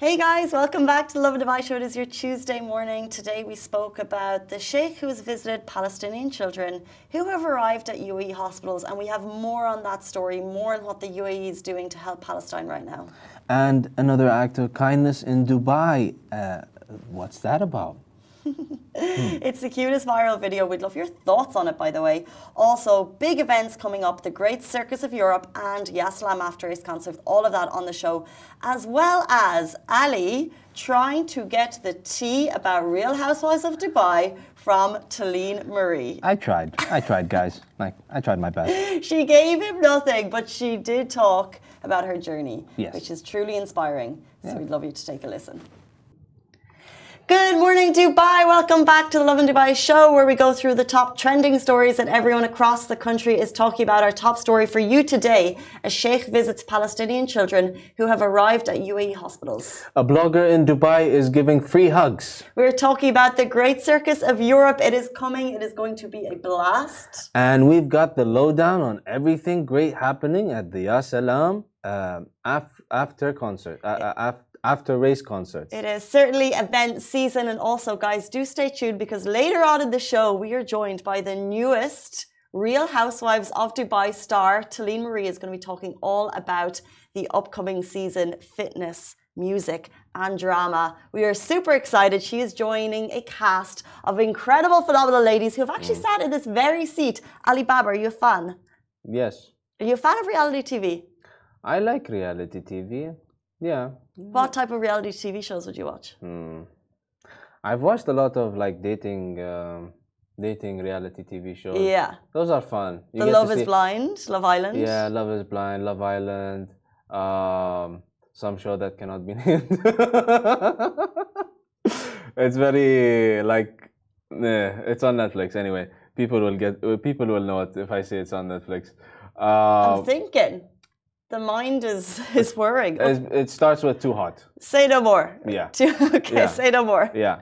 Hey guys, welcome back to the Lovin Dubai Show. It is your Tuesday morning. Today we spoke about the Sheikh who has visited Palestinian children who have arrived at UAE hospitals, and we have more on that story, more on what the UAE is doing to help Palestine right now. And another act of kindness in Dubai. What's that about? It's the cutest viral video. We'd love your thoughts on it, by the way. Also, big events coming up, the Great Circus of Europe and Yasalam After Race concert, all of that on the show, as well as Ali trying to get the tea about Real Housewives of Dubai from Talene Marie. I tried, guys. I tried my best. She gave him nothing, but she did talk about her journey, yes, which is truly inspiring. So we'd love you to take a listen. Good morning, Dubai. Welcome back to the Lovin Dubai Show, where we go through the top trending stories that everyone across the country is talking about. Our top story for you today: a sheikh visits Palestinian children who have arrived at UAE hospitals. A blogger in Dubai is giving free hugs. We're talking about the Great Circus of Europe. It is coming. It is going to be a blast. And we've got the lowdown on everything great happening at the Yasalam after concert. After race concerts. It is certainly event season, and also, guys, do stay tuned because later on in the show we are joined by the newest Real Housewives of Dubai star. Talene Marie is going to be talking all about the upcoming season, fitness, music and drama. We are super excited. She is joining a cast of incredible, phenomenal ladies who have actually sat in this very seat. Ali Baba, are you a fan? Yes. Are you a fan of reality TV? I like reality TV. Yeah. What type of reality TV shows would you watch? I've watched a lot of like dating reality TV shows. Yeah. Those are fun. The Love is Blind, Love Island. Yeah, Love is Blind, Love Island. Some show that cannot be named. It's very like, it's on Netflix anyway. People will know it if I say it's on Netflix. I'm thinking. The mind is whirring. It starts with Too Hot. Say no more. Yeah. Okay, yeah. Say no more. Yeah.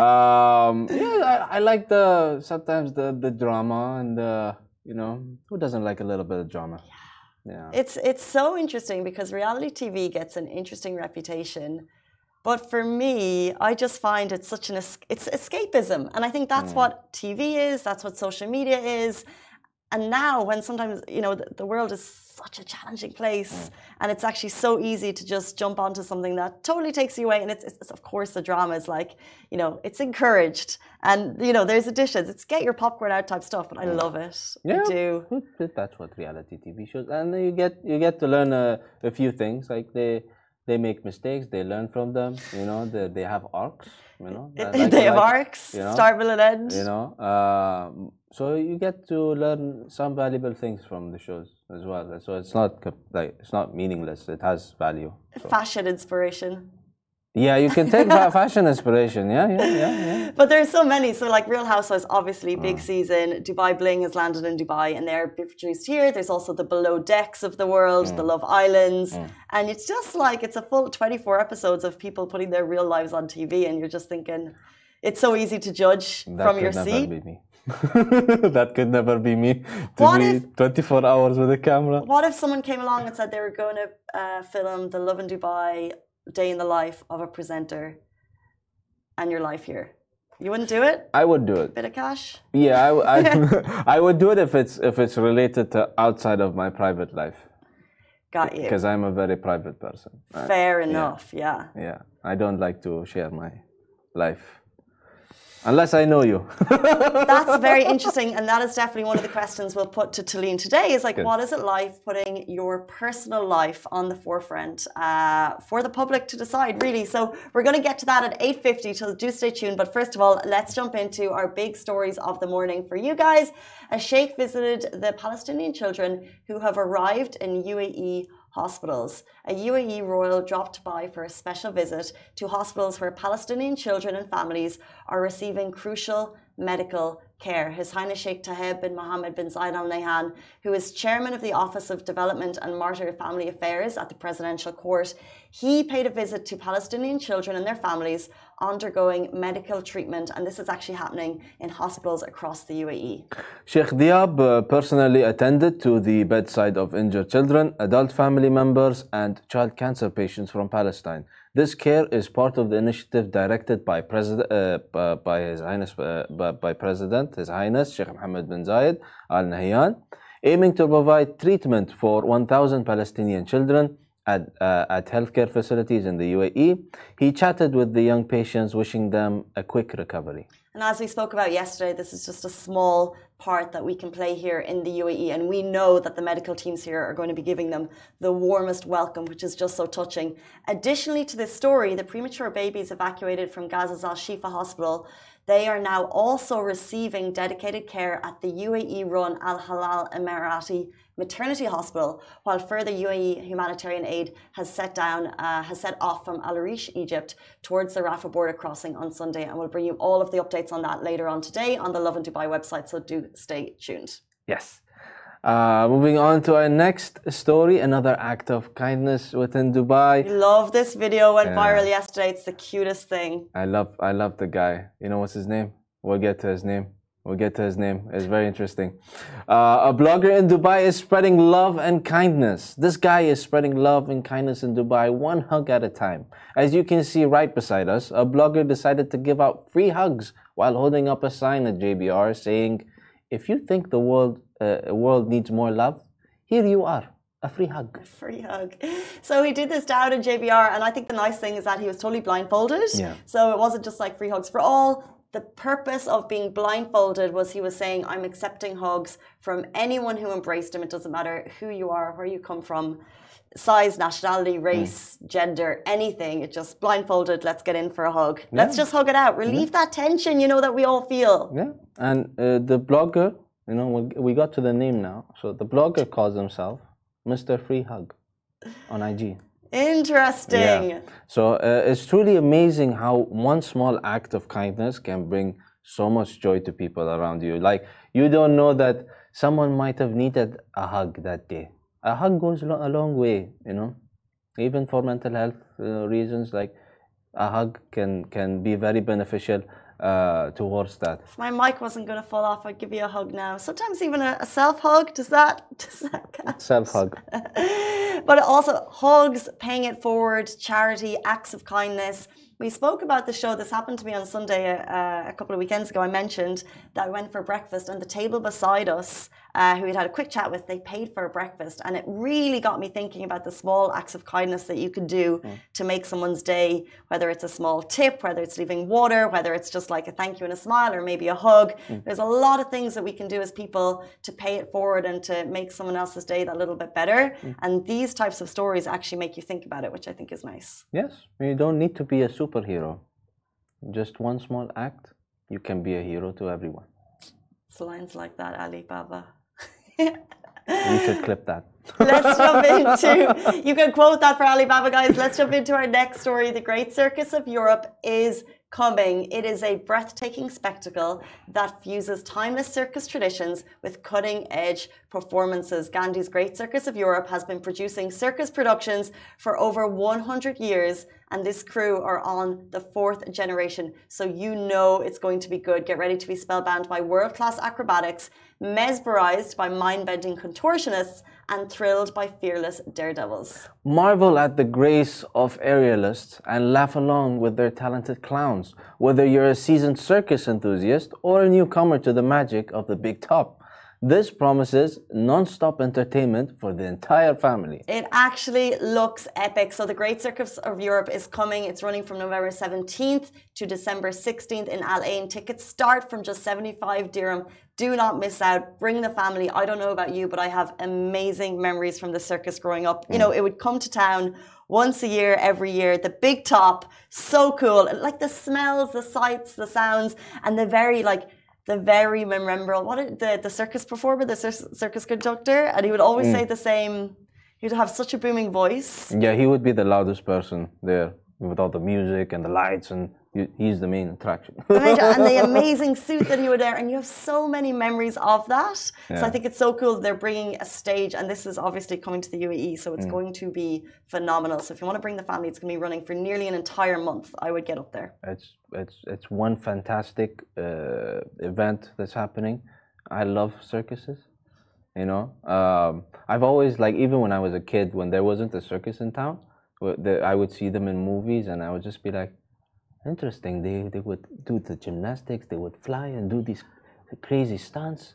I like sometimes the drama and who doesn't like a little bit of drama? Yeah. It's so interesting because reality TV gets an interesting reputation, but for me, I just find it's such it's escapism, and I think that's what TV is. That's what social media is. And now when sometimes, the world is such a challenging place and it's actually so easy to just jump onto something that totally takes you away. And it's of course, the drama is like, it's encouraged. And, there's additions. It's get your popcorn out type stuff, but I love it. Yeah, I do. That's what reality TV shows. And you get to learn a few things. Like they make mistakes. They learn from them. They have arcs. They have arcs. Start, middle, and end. So you get to learn some valuable things from the shows as well. So it's not meaningless. It has value. So. Fashion inspiration. Yeah, you can take fashion inspiration. Yeah. But there's so many. So like Real Housewives, obviously big season. Dubai Bling has landed in Dubai and they're produced here. There's also the Below Decks of the world, the Love Islands. And it's just like, it's a full 24 episodes of people putting their real lives on TV. And you're just thinking, it's so easy to judge from your seat. That could never be me. That could never be me. To be 24 hours with a camera. What if someone came along and said they were going to film the Lovin Dubai day in the life of a presenter and your life here? You wouldn't do it? I would do it. Bit of cash? Yeah, I would do it if it's related to outside of my private life. Got you. Because I'm a very private person. Fair enough, yeah. Yeah, I don't like to share my life. Unless I know you. That's very interesting, and that is definitely one of the questions we'll put to Talene today is like, what is it like putting your personal life on the forefront for the public to decide, really? So we're going to get to that at 8:50, so do stay tuned. But first of all, let's jump into our big stories of the morning for you guys. A sheikh visited the Palestinian children who have arrived in UAE hospitals. A UAE royal dropped by for a special visit to hospitals where Palestinian children and families are receiving crucial medical care. His Highness Sheikh Tahib bin Mohammed bin Zayed Al Nahyan, who is chairman of the Office of Development and Martyr Family Affairs at the Presidential Court, he paid a visit to Palestinian children and their families undergoing medical treatment, and this is actually happening in hospitals across the UAE. Sheikh Diab personally attended to the bedside of injured children, adult family members, and child cancer patients from Palestine. This care is part of the initiative directed by His Highness Sheikh Mohammed bin Zayed Al Nahyan, aiming to provide treatment for 1,000 Palestinian children at healthcare facilities in the UAE. He chatted with the young patients, wishing them a quick recovery. And as we spoke about yesterday, this is just a small part that we can play here in the UAE. And we know that the medical teams here are going to be giving them the warmest welcome, which is just so touching. Additionally to this story, the premature babies evacuated from Gaza's Al Shifa hospital, they are now also receiving dedicated care at the UAE-run Al Halal Emirati Maternity Hospital, while further UAE humanitarian aid has set off from Al Arish, Egypt, towards the Rafah border crossing on Sunday, and we'll bring you all of the updates on that later on today on the Lovin Dubai website, so do stay tuned. Yes. Moving on to our next story, another act of kindness within Dubai. I love this video, went viral yesterday. It's the cutest thing. I love the guy. You know what's his name? We'll get to his name. It's very interesting. A blogger in Dubai is spreading love and kindness. This guy is spreading love and kindness in Dubai, one hug at a time. As you can see right beside us, a blogger decided to give out free hugs while holding up a sign at JBR saying, "If you think the world needs more love, here you are. A free hug." A free hug. So he did this down in JBR, and I think the nice thing is that he was totally blindfolded. Yeah. So it wasn't just like free hugs for all. The purpose of being blindfolded was he was saying, "I'm accepting hugs from anyone who embraced him. It doesn't matter who you are, where you come from, size, nationality, race, gender, anything. It just blindfolded. Let's get in for a hug. Let's just hug it out. Relieve that tension, that we all feel." Yeah. And the blogger, we got to the name now. So the blogger calls himself Mr. Free Hug on IG. Interesting. Yeah. So it's truly amazing how one small act of kindness can bring so much joy to people around you. Like, you don't know that someone might have needed a hug that day. A hug goes a long way, even for mental health reasons. Like, a hug can be very beneficial towards that. If my mic wasn't going to fall off, I'd give you a hug now. Sometimes even a self-hug, does that count? Self-hug. But also hugs, paying it forward, charity, acts of kindness. We spoke about the show. This happened to me on Sunday a couple of weekends ago. I mentioned that I went for breakfast, and the table beside us, who we'd had a quick chat with, they paid for a breakfast. And it really got me thinking about the small acts of kindness that you could do to make someone's day, whether it's a small tip, whether it's leaving water, whether it's just like a thank you and a smile, or maybe a hug. There's a lot of things that we can do as people to pay it forward and to make someone else's day that little bit better. And these types of stories actually make you think about it, which I think is nice. Yes, you don't need to be a superhero. Just one small act, you can be a hero to everyone. It's lines like that, Ali Baba. You should clip that. Let's jump into, you can quote that for Ali Baba, guys. Let's jump into our next story. The Great Circus of Europe is coming. It is a breathtaking spectacle that fuses timeless circus traditions with cutting-edge performances. Gandhi's Great Circus of Europe has been producing circus productions for over 100 years, and this crew are on the 4th generation. So it's going to be good. Get ready to be spellbound by world-class acrobatics, mesmerized by mind-bending contortionists, and thrilled by fearless daredevils. Marvel at the grace of aerialists and laugh along with their talented clowns, whether you're a seasoned circus enthusiast or a newcomer to the magic of the big top. This promises non-stop entertainment for the entire family. It actually looks epic. So the Great Circus of Europe is coming. It's running from November 17th to December 16th in Al Ain. Tickets start from just 75 dirham. Do not miss out. Bring the family. I don't know about you, but I have amazing memories from the circus growing up. It would come to town once a year, every year. The big top, so cool. Like the smells, the sights, the sounds, and the very memorable, the circus performer, the circus conductor, and he would always say the same. He'd have such a booming voice. Yeah, he would be the loudest person there with all the music and the lights, and he's the main attraction. And the amazing suit that he would wear, and you have so many memories of that. Yeah. So I think it's so cool they're bringing a stage, and this is obviously coming to the UAE, so it's going to be phenomenal. So if you want to bring the family, it's going to be running for nearly an entire month. I would get up there. It's one fantastic event that's happening. I love circuses. I've always, even when I was a kid, when there wasn't a circus in town, it I would see them in movies, and I would just be like, interesting. They would do the gymnastics. They would fly and do these crazy stunts,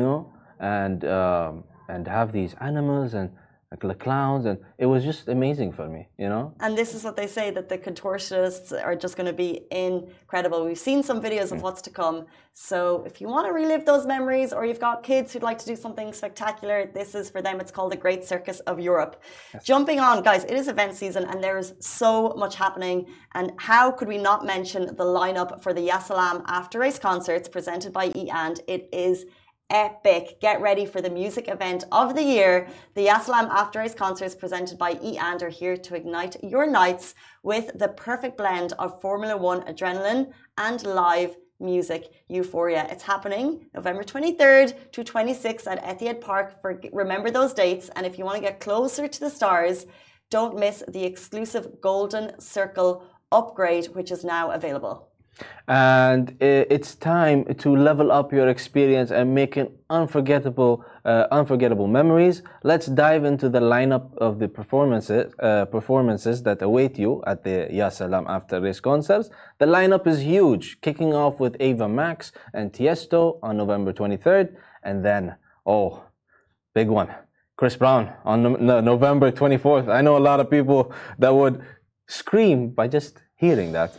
and have these animals and like the clowns, and it was just amazing for me. And this is what they say, that the contortionists are just going to be incredible. We've seen some videos of what's to come. So if you want to relive those memories, or you've got kids who'd like to do something spectacular, this is for them. It's called the Great Circus of Europe. Yes. Jumping on, guys, it is event season and there's so much happening. And how could we not mention the lineup for the Ya Salaam after race concerts presented by E&. It is epic. Get ready for the music event of the year. The Ya Salaam After Race concerts presented by E&. are here to ignite your nights with the perfect blend of Formula One adrenaline and live music euphoria. It's happening November 23rd to 26th at Etihad Park. Remember those dates. And if you want to get closer to the stars, don't miss the exclusive Golden Circle upgrade, which is now available. And it's time to level up your experience and make an unforgettable memories. Let's dive into the lineup of the performances that await you at the Ya Salaam After Race concerts. The lineup is huge, kicking off with Ava Max and Tiesto on November 23rd, and then, big one, Chris Brown on November 24th. I know a lot of people that would scream by just hearing that.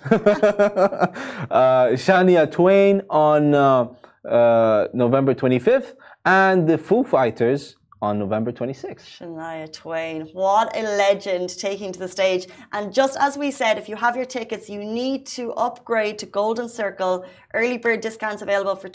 Shania Twain on November 25th, and the Foo Fighters on November 26th. Shania Twain, what a legend, taking to the stage. And just as we said, if you have your tickets, you need to upgrade to Golden Circle. Early bird discounts available for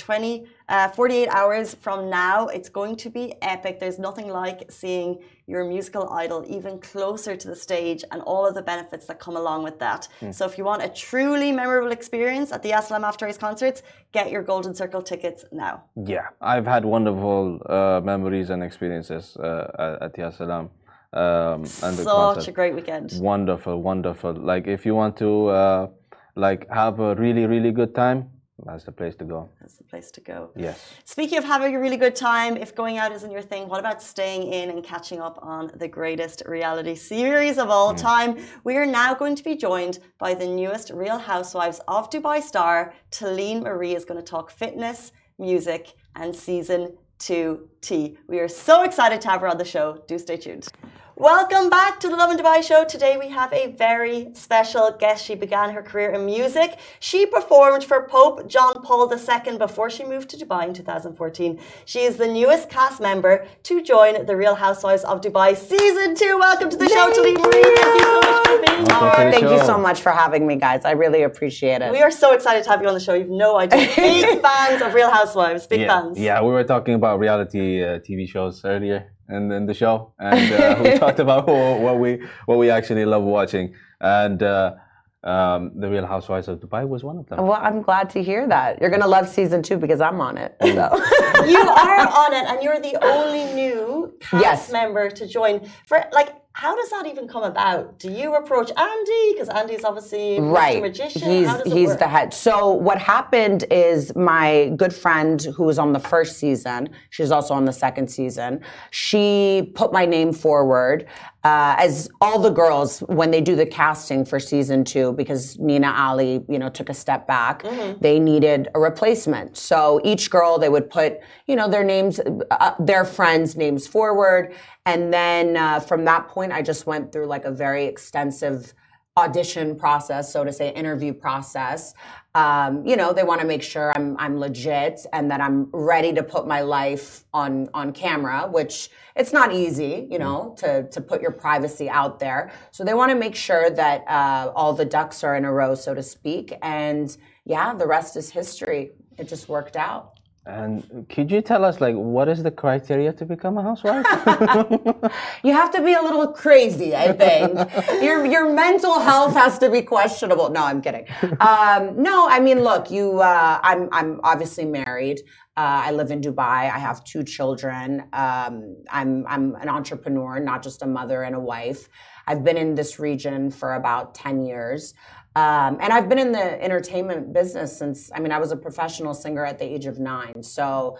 48 hours from now. It's going to be epic. There's nothing like seeing your musical idol even closer to the stage and all of the benefits that come along with that. So if you want a truly memorable experience at the Ya Salaam After Race concerts, get your Golden Circle tickets now. Yeah, I've had wonderful memories and experiences at Ya Salaam. Such a great weekend. Wonderful, wonderful. Like, if you want to have a really, really good time, that's the place to go. That's the place to go. Yes. Speaking of having a really good time, if going out isn't your thing, what about staying in and catching up on the greatest reality series of all time? We are now going to be joined by the newest Real Housewives of Dubai star. Talene Marie is going to talk fitness, music, and season 2 tea. We are so excited to have her on the show. Do stay tuned. Welcome back to the Lovin Dubai show. Today we have a very special guest. She began her career in music. She performed for Pope John Paul II before she moved to Dubai in 2014. She is the newest cast member to join the Real Housewives of Dubai Season 2. Welcome to the show, Talene Marie. Thank you so much for being here. Thank you so much for having me, guys. I really appreciate it. We are so excited to have you on the show. You've no idea. Big fans of Real Housewives. Big fans. Yeah, we were talking about reality TV shows earlier in the show, and we talked about what we actually love watching, and the Real Housewives of Dubai was one of them. Well, I'm glad to hear that. You're gonna love season 2 because I'm on it. So. You are on it, and you're the only new cast member to join. How does that even come about? Do you approach Andy? Because Andy's obviously Mr. Magician. He's the head. So what happened is my good friend who was on the first season, she's also on the second season, she put my name forward as all the girls when they do the casting for season 2, because Nina Ali, took a step back. They needed a replacement. So each girl, they would put, their names, their friends' names forward. And then from that point, I just went through like a very extensive audition process, so to say, interview process. They want to make sure I'm legit and that I'm ready to put my life on camera, which it's not easy, to put your privacy out there. So they want to make sure that all the ducks are in a row, so to speak. And yeah, the rest is history. It just worked out. And could you tell us, what is the criteria to become a housewife? You have to be a little crazy, I think. Your mental health has to be questionable. No, I'm kidding. No, I mean, look, I'm obviously married. I live in Dubai. I have 2 children. I'm an entrepreneur, not just a mother and a wife. I've been in this region for about 10 years. And I've been in the entertainment business since, I was a professional singer at the age of 9. So,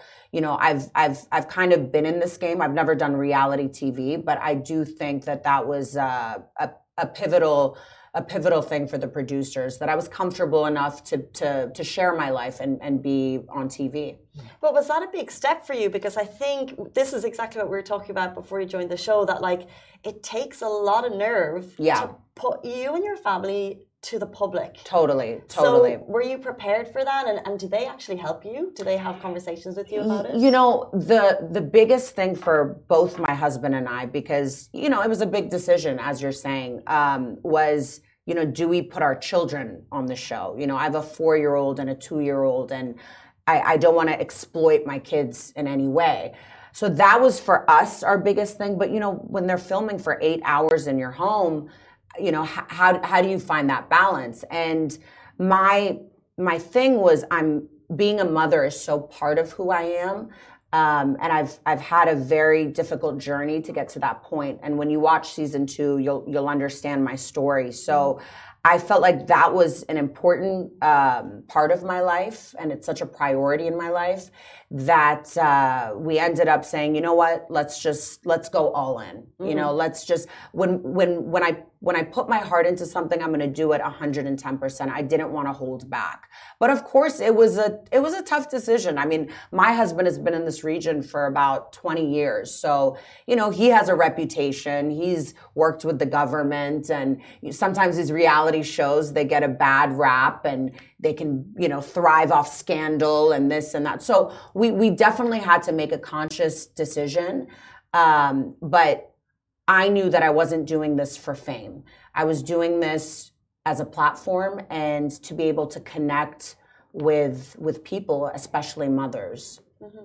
I've kind of been in this game. I've never done reality TV, but I do think that was a a pivotal thing for the producers, that I was comfortable enough to share my life and be on TV. But was that a big step for you? Because I think this is exactly what we were talking about before you joined the show, that like it takes a lot of nerve to put you and your family to the public. Totally. So were you prepared for that? And do they actually help you? Do they have conversations with you about it? You know, the biggest thing for both my husband and I, because, you know, it was a big decision, as you're saying, was, you know, do we put our children on the show? You know, I have a 4-year-old and a 2-year-old, and I don't want to exploit my kids in any way. So that was for us our biggest thing. But, you know, when they're filming for 8 hours in your home, you know, how do you find that balance? And my thing was, being a mother is so part of who I am. And I've had a very difficult journey to get to that point. And when you watch season 2, you'll understand my story. So I felt like that was an important part of my life, and it's such a priority in my life that we ended up saying, you know what, let's go all in. You know, let's just when I put my heart into something, I'm going to do it 110%. I didn't want to hold back. But of course, it was a tough decision. I mean, my husband has been in this region for about 20 years. So, you know, he has a reputation. He's worked with the government, and sometimes these reality shows, they get a bad rap and they can, you know, thrive off scandal and this and that. So we definitely had to make a conscious decision. But I knew that I wasn't doing this for fame. I was doing this as a platform and to be able to connect with people, especially mothers.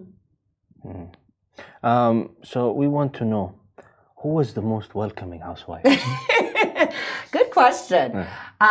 So we want to know, who was the most welcoming housewife? Good question.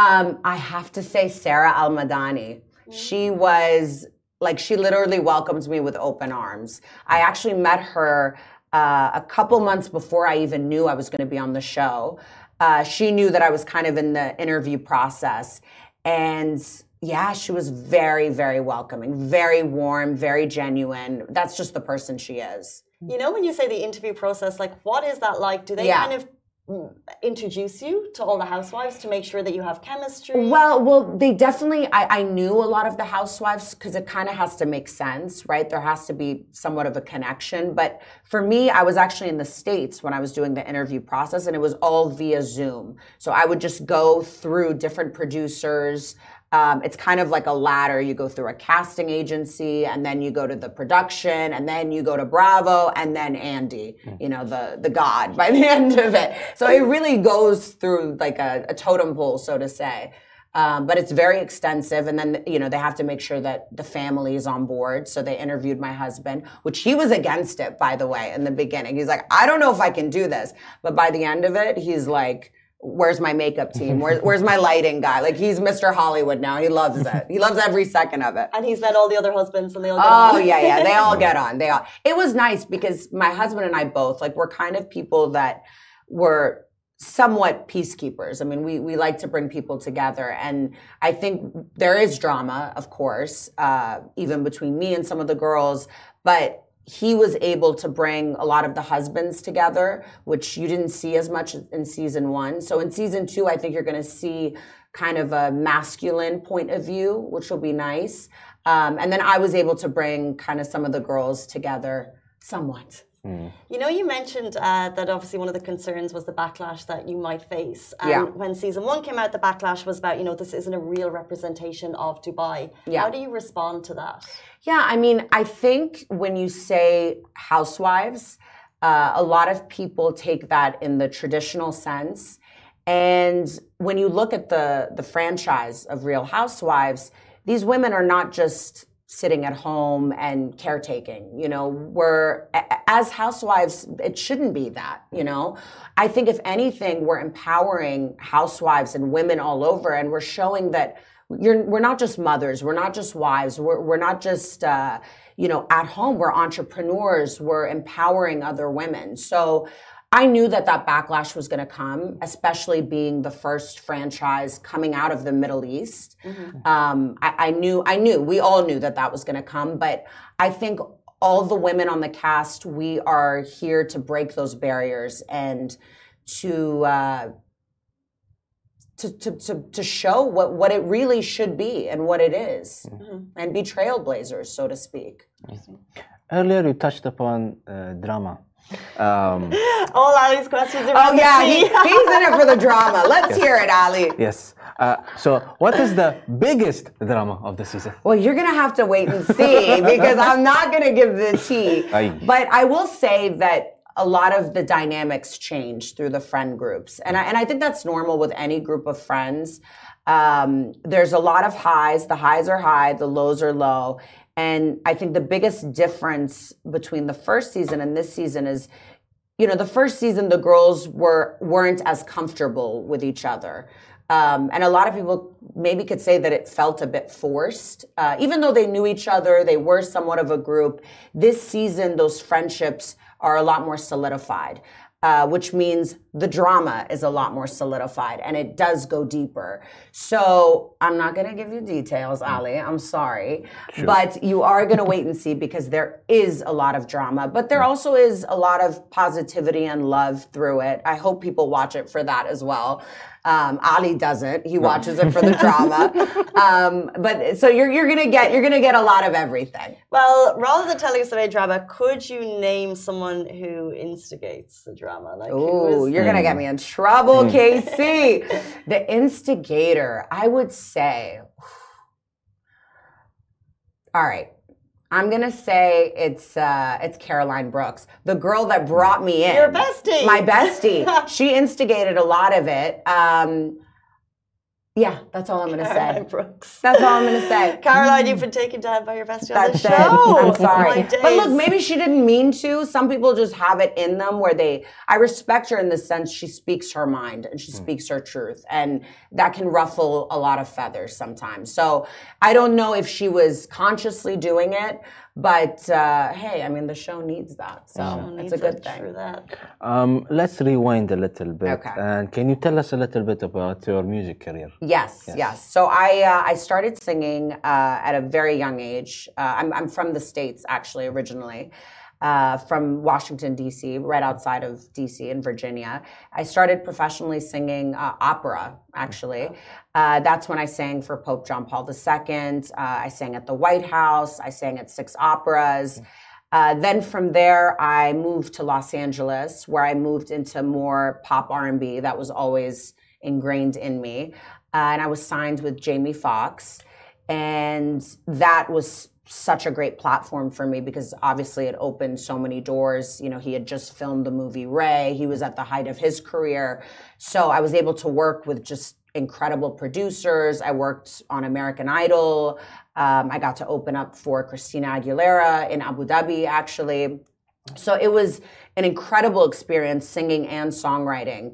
I have to say Sarah Al-Madani. She was like, she literally welcomes me with open arms. I actually met her a couple months before I even knew I was going to be on the show. She knew that I was kind of in the interview process. And yeah, she was very, very welcoming, very warm, very genuine. That's just the person she is. You know, when you say the interview process, like, what is that like? Do they kind of introduce you to all the housewives to make sure that you have chemistry? Well, they definitely, I knew a lot of the housewives because it kind of has to make sense, right? There has to be somewhat of a connection. But for me, I was actually in the States when I was doing the interview process, and it was all via Zoom. So I would just go through different producers. It's kind of like a ladder. You go through a casting agency, and then you go to the production, and then you go to Bravo, and then Andy, you know, the god by the end of it. So it really goes through like a totem pole, so to say. But it's very extensive. And then, you know, they have to make sure that the family is on board. So they interviewed my husband, which he was against it, by the way, in the beginning. He's like, I don't know if I can do this. But by the end of it, he's like, where's my makeup team? Where's my lighting guy? Like, he's Mr. Hollywood now. He loves it. He loves every second of it. And he's met all the other husbands, and they all get on. Oh, yeah. They all get on. It was nice because my husband and I both, like, we're kind of people that were somewhat peacekeepers. I mean, we like to bring people together. And I think there is drama, of course, even between me and some of the girls. But he was able to bring a lot of the husbands together, which you didn't see as much in season 1. So in season 2, I think you're going to see kind of a masculine point of view, which will be nice. And then I was able to bring kind of some of the girls together somewhat. You know, you mentioned that obviously one of the concerns was the backlash that you might face. And when season 1 came out, the backlash was about, you know, this isn't a real representation of Dubai. How do you respond to that? Yeah, I mean, I think when you say housewives, a lot of people take that in the traditional sense. And when you look at the franchise of Real Housewives, these women are not just sitting at home and caretaking. You know, as housewives, it shouldn't be that, you know. I think if anything, we're empowering housewives and women all over, and we're showing that we're not just mothers, we're not just wives, we're not just, you know, at home, we're entrepreneurs, we're empowering other women. So I knew that backlash was going to come, especially being the first franchise coming out of the Middle East. I knew, we all knew that was going to come, but I think all the women on the cast, we are here to break those barriers and to to show what it really should be and what it is, and be trailblazers, so to speak. Earlier, you touched upon drama. All Ali's questions are Oh yeah, he's in it for the drama. Let's hear it, Ali. Yes. So, what is the biggest drama of the season? Well, you're gonna have to wait and see because I'm not gonna give the tea. Aye. But I will say that a lot of the dynamics change through the friend groups, and I think that's normal with any group of friends. There's a lot of highs. The highs are high, the lows are low, and I think the biggest difference between the first season and this season is, the first season the girls weren't as comfortable with each other. And a lot of people maybe could say that it felt a bit forced. Even though they knew each other, they were somewhat of a group. This season, those friendships are a lot more solidified, which means the drama is a lot more solidified and it does go deeper. So I'm not going to give you details, Ali. I'm sorry. Sure. But you are going to wait and see because there is a lot of drama, but there also is a lot of positivity and love through it. I hope people watch it for that as well. Ali doesn't. He watches it for the drama. But so you're gonna get a lot of everything. Well, rather than telling us about drama, could you name someone who instigates the drama? You're gonna get me in trouble, KC. The instigator, I would say. All right. I'm gonna say it's Caroline Brooks, the girl that brought me in. Your bestie. My bestie. She instigated a lot of it. Yeah, that's all I'm gonna Caroline say. Brooks. That's all I'm gonna say. Caroline, you've been taken down by your bestie on the That's show. it. I'm sorry. My But look, days. maybe she didn't mean to. Some people just have it in them where I respect her in the sense she speaks her mind and she speaks her truth. And that can ruffle a lot of feathers sometimes. So I don't know if she was consciously doing it, but hey, I mean, the show needs that. So it's a good thing. True that. Let's rewind a little bit. Okay. And can you tell us a little bit about your music career? Yes. So I started singing at a very young age. I'm from the States, actually, originally. From Washington, D.C., right outside of D.C. in Virginia. I started professionally singing opera, actually. That's when I sang for Pope John Paul II. I sang at the White House. I sang at 6 operas. Then from there, I moved to Los Angeles, where I moved into more pop R&B. That was always ingrained in me. And I was signed with Jamie Foxx. And that was such a great platform for me because obviously it opened so many doors. He had just filmed the movie Ray. He was at the height of his career. So I was able to work with just incredible producers. I worked on American Idol. I got to open up for Christina Aguilera in Abu Dhabi, actually. So it was an incredible experience singing and songwriting.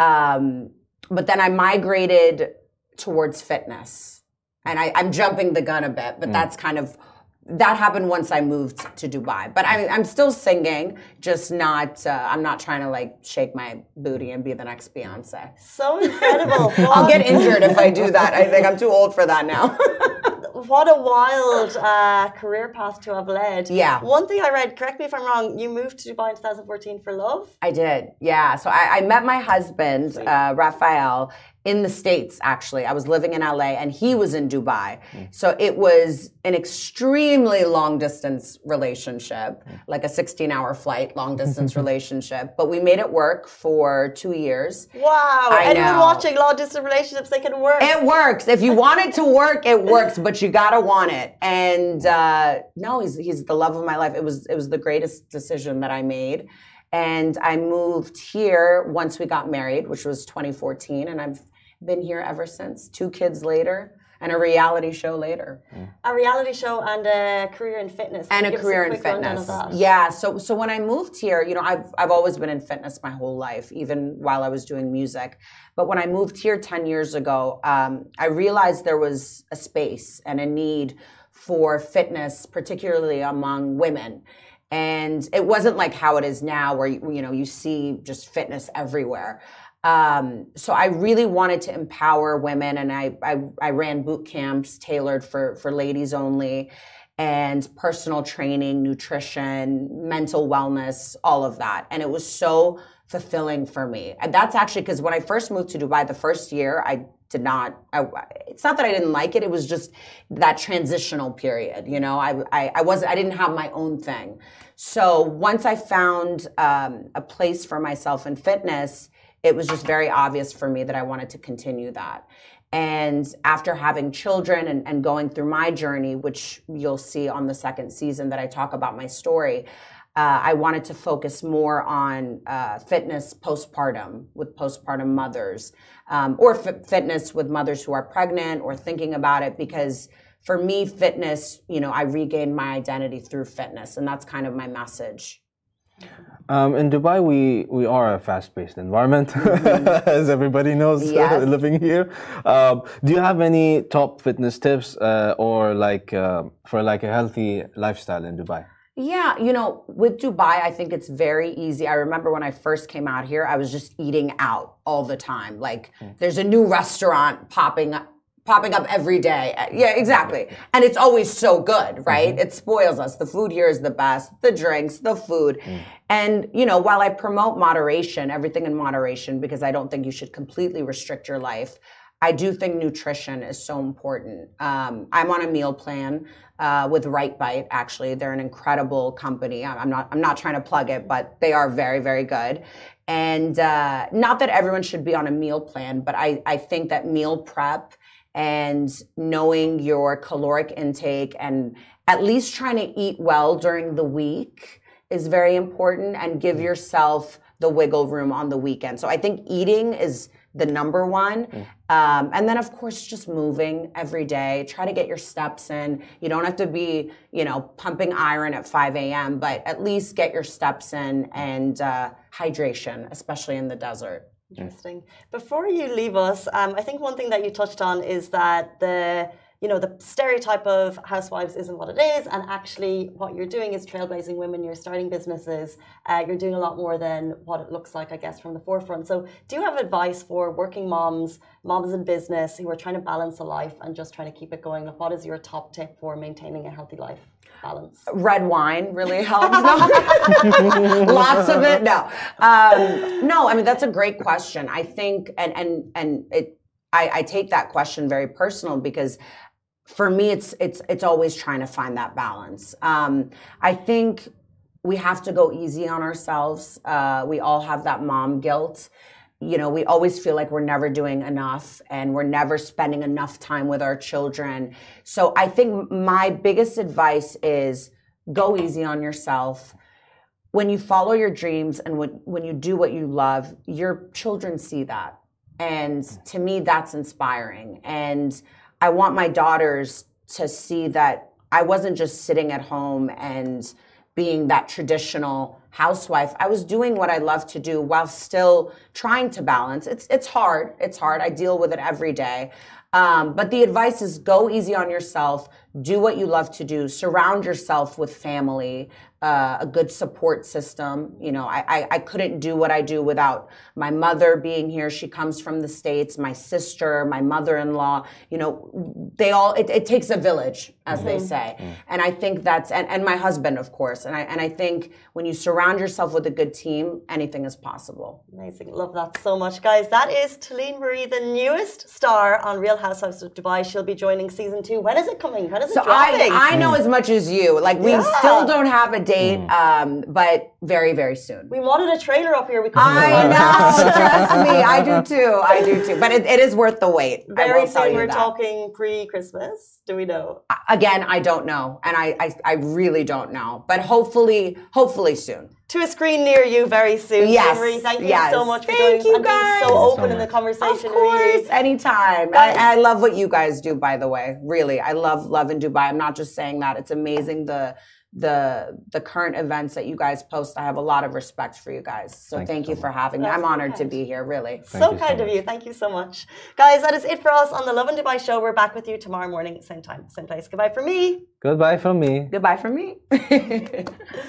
But then I migrated towards fitness. And I'm jumping the gun a bit, but that's kind of, that happened once I moved to Dubai. But I'm still singing, just not, I'm not trying to shake my booty and be the next Beyonce. So incredible. I'll get injured if I do that. I think I'm too old for that now. What a wild career path to have led. Yeah. One thing I read, correct me if I'm wrong, you moved to Dubai in 2014 for love? I did, yeah. So I met my husband, Raphael, in the States, actually. I was living in LA and he was in Dubai. So it was an extremely long distance relationship, like a 16-hour flight, long distance relationship. But we made it work for 2 years. Wow. Anyone watching long distance relationships, they can work. It works. If you want it to work, it works, but you gotta want it. And no, he's the love of my life. It was the greatest decision that I made. And I moved here once we got married, which was 2014, and I've been here ever since. 2 kids later, and a reality show later. A reality show and a career in fitness. And a career in fitness. Yeah. So when I moved here, I've always been in fitness my whole life, even while I was doing music. But when I moved here 10 years ago, I realized there was a space and a need for fitness, particularly among women. And it wasn't like how it is now where, you see just fitness everywhere. So I really wanted to empower women, and I ran boot camps tailored for ladies only, and personal training, nutrition, mental wellness, all of that. And it was so fulfilling for me. And that's actually because when I first moved to Dubai the first year, it's not that I didn't like it. It was just that transitional period. You know, I didn't have my own thing. So once I found a place for myself in fitness, it was just very obvious for me that I wanted to continue that. And after having children and going through my journey, which you'll see on the second season that I talk about my story, I wanted to focus more on fitness postpartum with postpartum mothers, or fitness with mothers who are pregnant or thinking about it, because for me, fitness, you know, I regained my identity through fitness, and that's kind of my message. In Dubai, we are a fast-paced environment, as everybody knows, Yes. living here. Do you have any top fitness tips or for like a healthy lifestyle in Dubai? Yeah, you know, with Dubai, I think it's very easy. I remember when I first came out here, I was just eating out all the time. Like, there's a new restaurant popping up every day. Yeah, exactly. And it's always so good, right? It spoils us. The food here is the best, the drinks, the food. And, you know, while I promote moderation, everything in moderation, because I don't think you should completely restrict your life, I do think nutrition is so important. I'm on a meal plan with Right Bite. Actually, they're an incredible company. I'm not trying to plug it, but they are very, very good. And not that everyone should be on a meal plan, but I think that meal prep and knowing your caloric intake and at least trying to eat well during the week is very important, and give yourself the wiggle room on the weekend. So I think eating is the number one. And then, of course, just moving every day. Try to get your steps in. You don't have to be, you know, pumping iron at 5 a.m., but at least get your steps in, and hydration, especially in the desert. Interesting. Before you leave us, I think one thing that you touched on is that the stereotype of housewives isn't what it is, and actually what you're doing is trailblazing women. You're starting businesses. You're doing a lot more than what it looks like, I guess, from the forefront. So do you have advice for working moms in business who are trying to balance a life and just trying to keep it going? What is your top tip for maintaining a healthy life balance? Red wine really helps. No. Lots of it. No. No, I mean, that's a great question. I think, I take that question very personal, because for me, it's always trying to find that balance. I think we have to go easy on ourselves. We all have that mom guilt. You know, we always feel like we're never doing enough and we're never spending enough time with our children. So I think my biggest advice is go easy on yourself. When you follow your dreams and when you do what you love, your children see that. And to me, that's inspiring. And I want my daughters to see that I wasn't just sitting at home and being that traditional housewife. I was doing what I love to do while still trying to balance. It's hard. It's hard. I deal with it every day. But the advice is go easy on yourself. Do what you love to do. Surround yourself with family, a good support system. You know, I couldn't do what I do without my mother being here. She comes from the States, my sister, my mother-in-law, you know, it takes a village, as they say. And I think and my husband, of course. And I think when you surround yourself with a good team, anything is possible. Amazing. Love that so much, guys. That is Talene Marie, the newest star on Real Housewives of Dubai. She'll be joining season 2. When is it coming? When is it dropping? I know as much as you. Like, we still don't have a date, but very, very soon. We wanted a trailer up here. I know. Trust me. I do too. But it is worth the wait. Very soon. We're talking pre-Christmas. Do we know? Again, I don't know. And I really don't know. But hopefully soon. To a screen near you very soon. Yes. Marie, thank you so much for joining us and being so open in the conversation. Of course, really. Anytime. And I love what you guys do, by the way. Really, I love in Dubai. I'm not just saying that. It's amazing the current events that you guys post. I have a lot of respect for you guys. So thank you for having me. I'm honored to be here, really. So kind of you. Thank you so much. Guys, that is it for us on the Lovin Dubai show. We're back with you tomorrow morning, same time, same place. Goodbye from me. Goodbye from me. Goodbye from me.